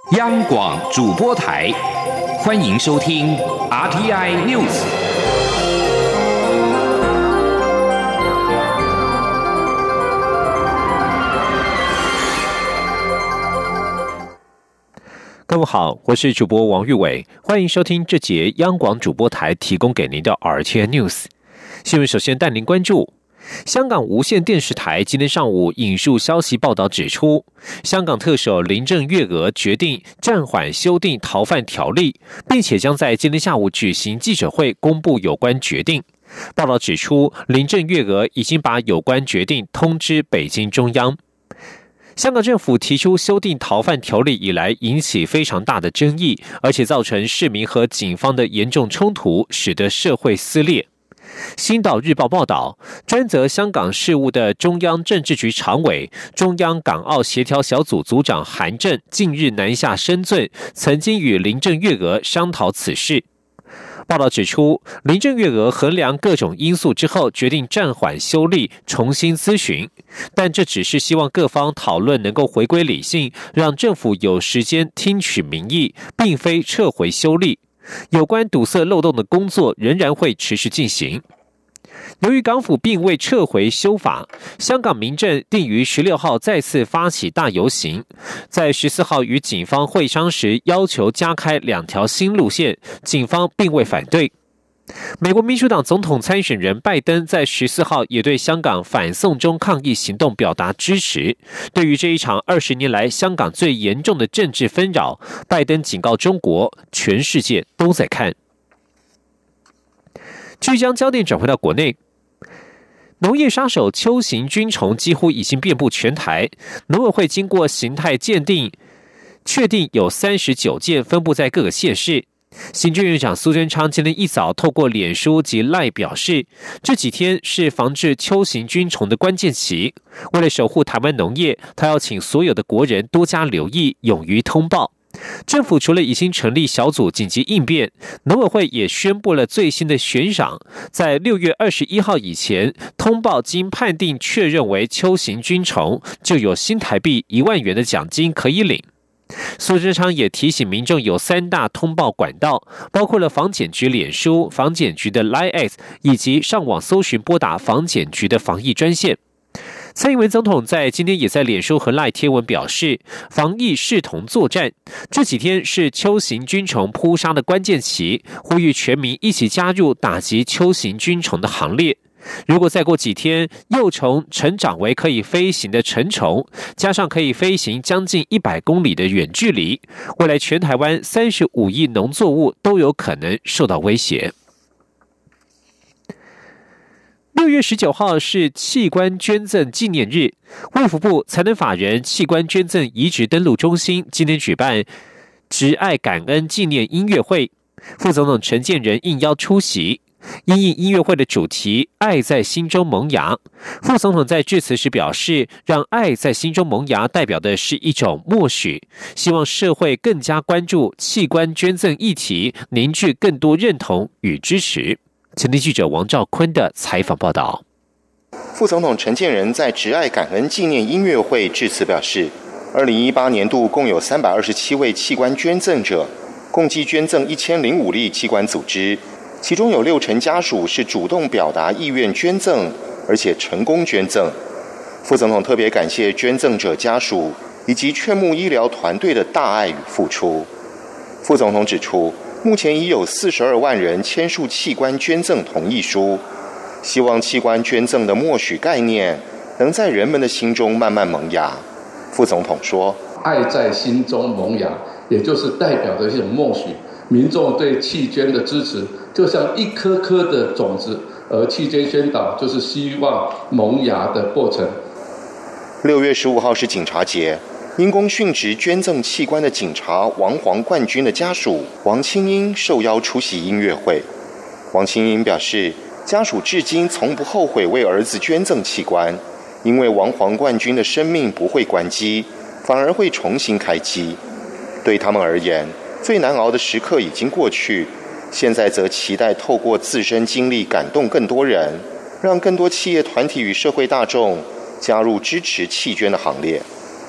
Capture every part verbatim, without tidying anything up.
央广主播台，欢迎收听 R T I News。各位好，我是主播王玉伟，欢迎收听这节央广主播台提供给您的 R T I News 新闻。首先带您关注。香港无线电视台今天上午引述消息报道指出，香港特首林郑月娥决定暂缓修订逃犯条例，并且将在今天下午举行记者会公布有关决定。报道指出，林郑月娥已经把有关决定通知北京中央。香港政府提出修订逃犯条例以来，引起非常大的争议，而且造成市民和警方的严重冲突，使得社会撕裂。星岛日报报道，专责香港事务的中央政治局常委、中央港澳协调小组组长韩正近日南下深圳，曾经与林郑月娥商讨此事。报道指出，林郑月娥衡量各种因素之后，决定暂缓修例，重新咨询，但这只是希望各方讨论能够回归理性，让政府有时间听取民意，并非撤回修例。有关堵塞漏洞的工作仍然会持续进行。由于港府并未撤回修法，香港民阵定于十六号再次发起大游行，在十四号与警方会商时要求加开两条新路线，警方并未反对。美国民主党总统参选人拜登在十四号也对香港反送中抗议行动表达支持。对于这一场二十年来香港最严重的政治纷扰，拜登警告中国，全世界都在看。继续将焦点转回到国内，农业杀手秋行菌虫几乎已经遍布全台，农委会经过形态鉴定，确定有三十九件，分布在各个县市。行政院长苏贞昌今天一早透过脸书及 LINE 表示，这几天是防治秋行菌虫的关键期，为了守护台湾农业，他要请所有的国人多加留意，勇于通报。政府除了已经成立小组紧急应变，农委会也宣布了最新的悬赏，在六月二十一号以前通报经判定确认为秋行菌虫，就有新台币一万元的奖金可以领。苏贞昌也提醒民众有三大通报管道，包括了防检局脸书、防检局的 LINE 以及上网搜寻拨打防检局的防疫专线。蔡英文总统在今天也在脸书和 LINE 贴文表示，防疫视同作战，这几天是秋行菌虫扑杀的关键期，呼吁全民一起加入打击秋行菌虫的行列。如果再过几天，幼虫成长为可以飞行的成虫，加上可以飞行将近一百公里的远距离，未来全台湾三十五亿农作物都有可能受到威胁。六月十九号是器官捐赠纪念日，卫福部财能法人器官捐赠移植登录中心今天举办植爱感恩纪念音乐会，副总统陈建仁应邀出席。因应音乐会的主题爱在心中萌芽，副总统在致辞时表示，让爱在心中萌芽代表的是一种默许，希望社会更加关注器官捐赠议题，凝聚更多认同与支持。前天记者王兆坤的采访报道。 副总统陈建仁在植爱感恩纪念音乐会致辞表示，二零一八年度共有三百二十七位器官捐赠者，共计捐赠一千零五例器官组织，其中有六成家属是主动表达意愿捐赠，而且成功捐赠。副总统特别感谢捐赠者家属以及劝募医疗团队的大爱与付出。副总统指出，目前已有四十二万人签署器官捐赠同意书，希望器官捐赠的默许概念能在人们的心中慢慢萌芽。副总统说， 爱在心中萌芽，也就是代表着一种默许，民众对器捐的支持就像一颗颗的种子，而器捐宣导就是希望萌芽的过程。 六月十五号是警察节，因公殉职捐赠器官的警察王黄冠军的家属王清英受邀出席音乐会。王清英表示，家属至今从不后悔为儿子捐赠器官，因为王黄冠军的生命不会关机，反而会重新开机。对他们而言，最难熬的时刻已经过去，现在则期待透过自身经历感动更多人，让更多企业团体与社会大众加入支持器捐的行列。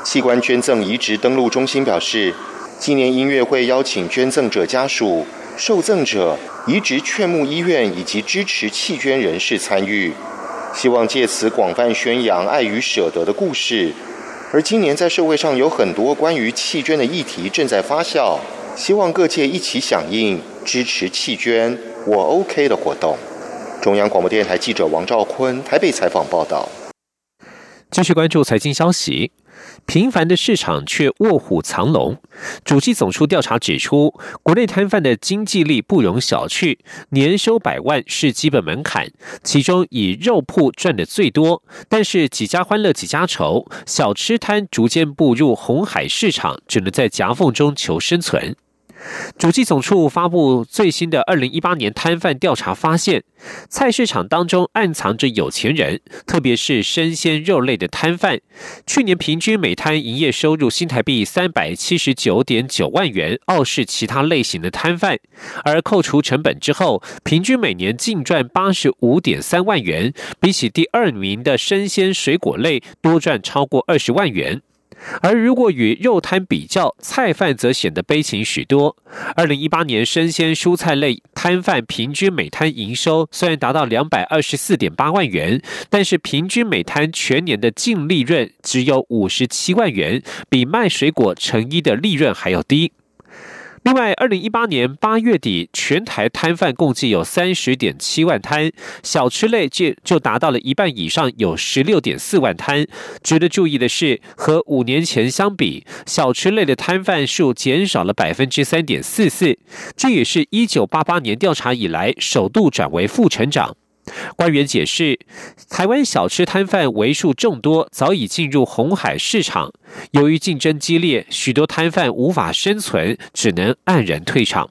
器官捐赠移植登录中心表示，纪念音乐会邀请捐赠者家属、受赠者、移植劝募医院以及支持器捐人士参与，希望借此广泛宣扬爱与舍得的故事。而今年在社会上有很多关于器捐的议题正在发酵，希望各界一起响应支持器捐我 OK 的活动。中央广播电台记者王兆坤台北采访报道。 继续关注财经消息。频繁的市场却卧虎藏龙。主计总处调查指出，国内摊贩的经济力不容小觑，年收百万是基本门槛，其中以肉铺赚的最多，但是几家欢乐几家愁，小吃摊逐渐步入红海市场，只能在夹缝中求生存。主计总处发布最新的二零一八年摊贩调查发现，菜市场当中暗藏着有钱人，特别是生鲜肉类的摊贩。去年平均每摊营业收入新台币三百七十九点九万元，傲视其他类型的摊贩。而扣除成本之后，平均每年净赚八十五点三万元，比起第二名的生鲜水果类多赚超过二十万元。而如果与肉摊比较，菜贩则显得悲情许多。二零一八年生鲜蔬菜类摊贩平均每摊营收虽然达到两百二十四点八万元，但是平均每摊全年的净利润只有五十七万元，比卖水果成衣的利润还要低。另外，二零一八年八月底，全台摊贩共计有 三十点七万摊，小吃类就达到了一半以上，有 十六点四万摊。值得注意的是，和五年前相比，小吃类的摊贩数减少了 百分之三点四四， 这也是一九八八年调查以来首度转为负成长。官员解释，台湾小吃摊贩为数众多，早已进入红海市场。由于竞争激烈，许多摊贩无法生存，只能黯然退场。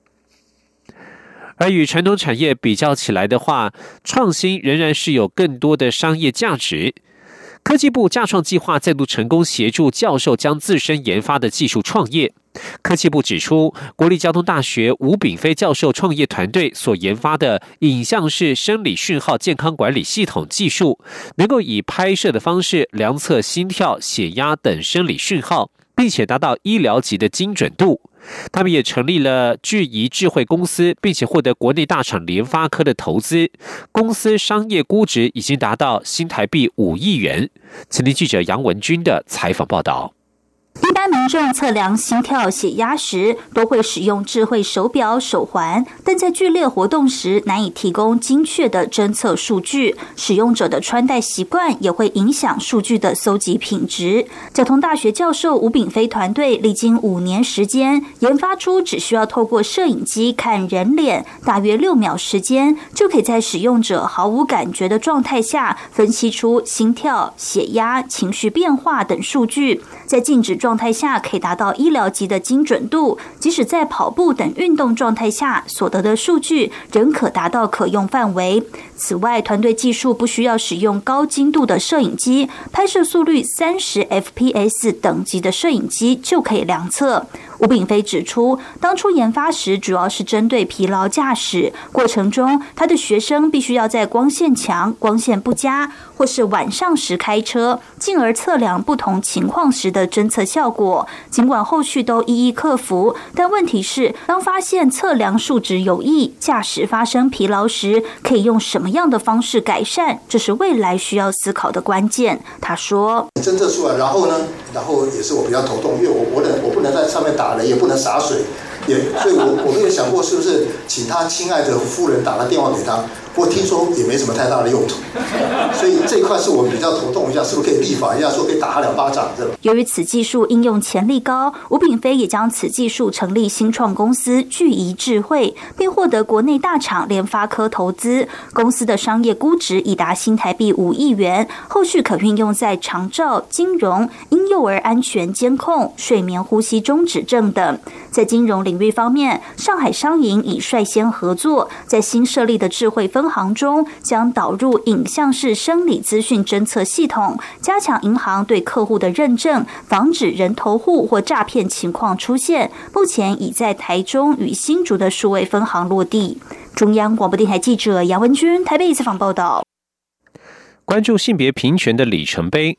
而与传统产业比较起来的话，创新仍然是有更多的商业价值。科技部架创计划再度成功协助教授将自身研发的技术创业。科技部指出，国立交通大学吴炳飞教授创业团队所研发的影像式生理讯号健康管理系统技术，能够以拍摄的方式量测心跳、血压等生理讯号，并且达到医疗级的精准度。他们也成立了智仪智慧公司，并且获得国内大厂联发科的投资，公司商业估值已经达到新台币五亿元。前天记者杨文君的采访报道。 一般民众测量心跳、血压时，都会使用智慧手表、手环，但在剧烈活动时难以提供精确的侦测数据。使用者的穿戴习惯也会影响数据的搜集品质。交通大学教授吴炳飞团队历经五年时间，研发出只需要透过摄影机看人脸，大约六秒时间，就可以在使用者毫无感觉的状态下，分析出心跳、血压、情绪变化等数据。在静止状态下可以达到医疗级的精准度，即使在跑步等运动状态下所得的数据仍可达到可用范围。此外，团队技术不需要使用高精度的摄影机，拍摄速率三十 F P S 等级的摄影机就可以量测。吴炳飞指出，当初研发时主要是针对疲劳驾驶，过程中他的学生必须要在光线强、光线不佳或是晚上时开车，进而测量不同情况时的侦测效果。尽管后续都一一克服，但问题是，当发现测量数值有异，驾驶发生疲劳时，可以用什么样的方式改善？这是未来需要思考的关键。他说：“ 侦测出来，然后呢，然后也是我比较头痛，因为我我能我不能在上面打雷，也不能洒水，也所以我我没有想过是不是请他亲爱的夫人打了电话给他。”不过听说也没什么太大的用途，所以这一块是我比较头痛一下，是不是可以立法一下，说可以打他两巴掌？ 由于此技术应用潜力高，吴炳飞也将此技术成立新创公司聚仪智慧，并获得国内大厂联发科投资。公司的商业估值已达新台币五亿元，后续可运用在长照、金融、婴幼儿安全监控、睡眠呼吸中止症等。在金融领域方面，上海商银已率先合作，在新设立的智慧分行中将导入影像式生理资讯侦测系统，加强银行对客户的认证，防止人头户或诈骗情况出现。目前已在台中与新竹的数位分行落地。中央广播电台记者杨文君台北采访报道。 关注性别平权的里程碑，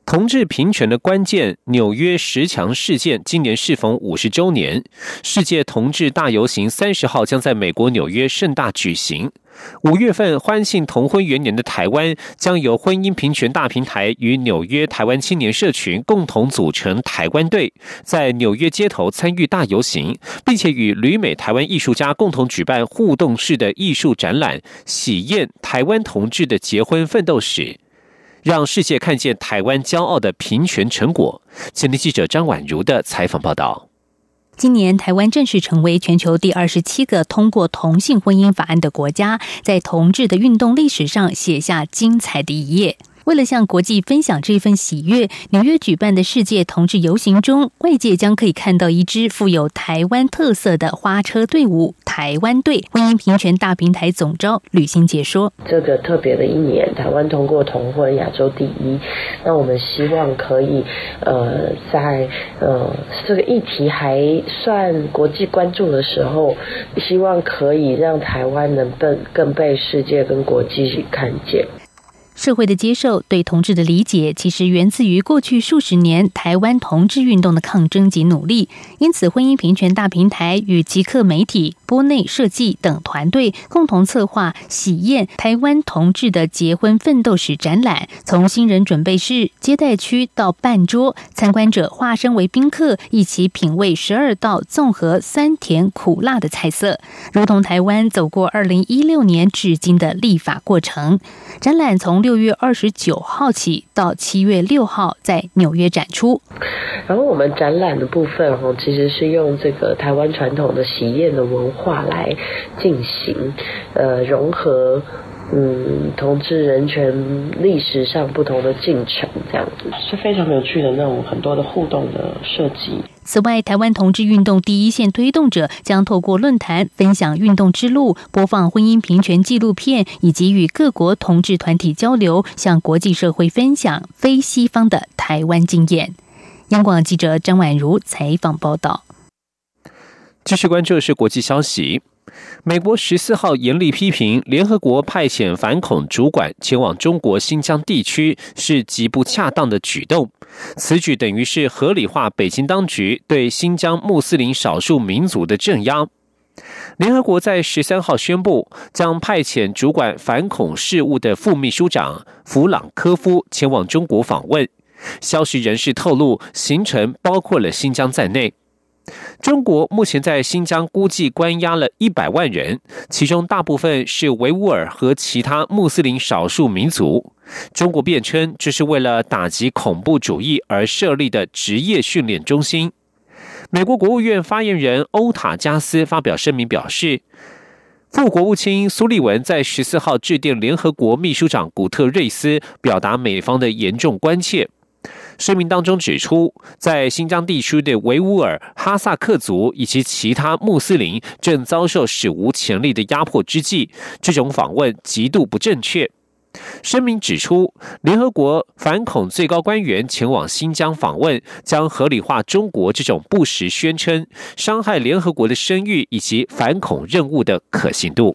同志平权的关键，纽约十强事件今年适逢五十周年，世界同志大游行三十号将在美国纽约盛大举行。五月份欢庆同婚元年的台湾，将由婚姻平权大平台与纽约台湾青年社群共同组成台湾队，在纽约街头参与大游行，并且与旅美台湾艺术家共同举办互动式的艺术展览，喜宴台湾同志的结婚奋斗史，让世界看见台湾骄傲的平权成果。前天记者张婉如的采访报道。 今年台湾正式成为全球第二十七个通过同性婚姻法案的国家，在同志的运动历史上写下精彩的一页。为了向国际分享这份喜悦，纽约举办的世界同志游行中，外界将可以看到一支富有台湾特色的花车队伍——台湾队。婚姻平权大平台总召吕欣杰说：“ 这个特别的一年，台湾通过同婚，亚洲第一。那我们希望可以，呃，在呃这个议题还算国际关注的时候，希望可以让台湾能更更被世界跟国际看见。” 社会的接受，对同志的理解，其实源自于过去数十年台湾同志运动的抗争及努力。因此，婚姻平权大平台与极客媒体、波内设计等团队共同策划喜宴台湾同志的结婚奋斗史展览，从新人准备室、接待区到办桌，参观者化身为宾客，一起品味十二道综合酸甜苦辣的菜色，如同台湾走过二零一六年至今的立法过程。展览从六月二十九号起到七月六号在纽约展出。 然后我们展览的部分哦，其实是用这个台湾传统的喜宴的文化来进行，呃，融合嗯同志人权历史上不同的进程，这样子是非常有趣的那种很多的互动的设计。 此外，台湾同志运动第一线推动者将透过论坛分享运动之路，播放婚姻平权纪录片，以及与各国同志团体交流，向国际社会分享非西方的台湾经验。央广记者张婉如采访报道。 继续关注的是国际消息。美国十四号严厉批评联合国派遣反恐主管前往中国新疆地区是极不恰当的举动，此举等于是合理化北京当局对新疆穆斯林少数民族的镇压。联合国在十三号宣布，将派遣主管反恐事务的副秘书长弗朗科夫前往中国访问。消息人士透露，行程包括了新疆在内。中国目前在新疆估计关押了一百万人，其中大部分是维吾尔和其他穆斯林少数民族。中国辩称这是为了打击恐怖主义而设立的职业训练中心。美国国务院发言人欧塔加斯发表声明表示，副国务卿苏利文在十四号致电联合国秘书长古特瑞斯，表达美方的严重关切。声明当中指出，在新疆地区的维吾尔、哈萨克族以及其他穆斯林正遭受史无前例的压迫之际，这种访问极度不正确。声明指出，联合国反恐最高官员前往新疆访问，将合理化中国这种不实宣称，伤害联合国的声誉以及反恐任务的可信度。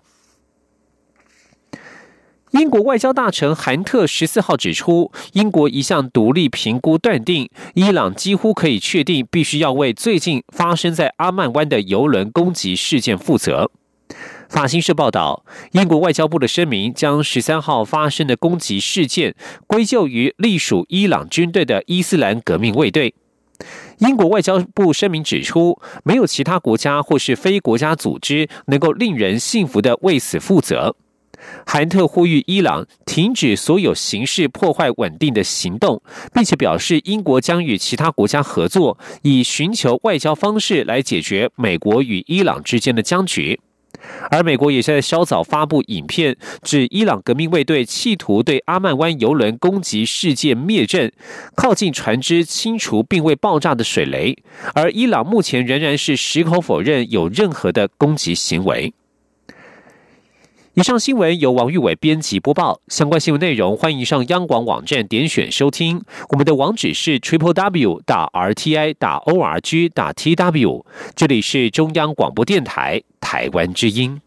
英国外交大臣韩特十四号指出，英国一项独立评估断定，伊朗几乎可以确定必须要为最近发生在阿曼湾的邮轮攻击事件负责。法新社报道，英国外交部的声明将十三号发生的攻击事件归咎于隶属伊朗军队的伊斯兰革命卫队。英国外交部声明指出，没有其他国家或是非国家组织能够令人信服地为此负责。韩特呼吁伊朗停止所有形式破坏稳定的行动，并且表示英国将与其他国家合作，以寻求外交方式来解决美国与伊朗之间的僵局。而美国也在稍早发布影片，指伊朗革命卫队企图对阿曼湾邮轮攻击事件灭阵，靠近船只清除并未爆炸的水雷，而伊朗目前仍然是矢口否认有任何的攻击行为。以上新闻由王玉伟编辑播报，相关新闻内容欢迎上央广网站点选收听。我们的网址是 triple w 打 r t i 打 o r g 打 t w。这里是中央广播电台台湾之音。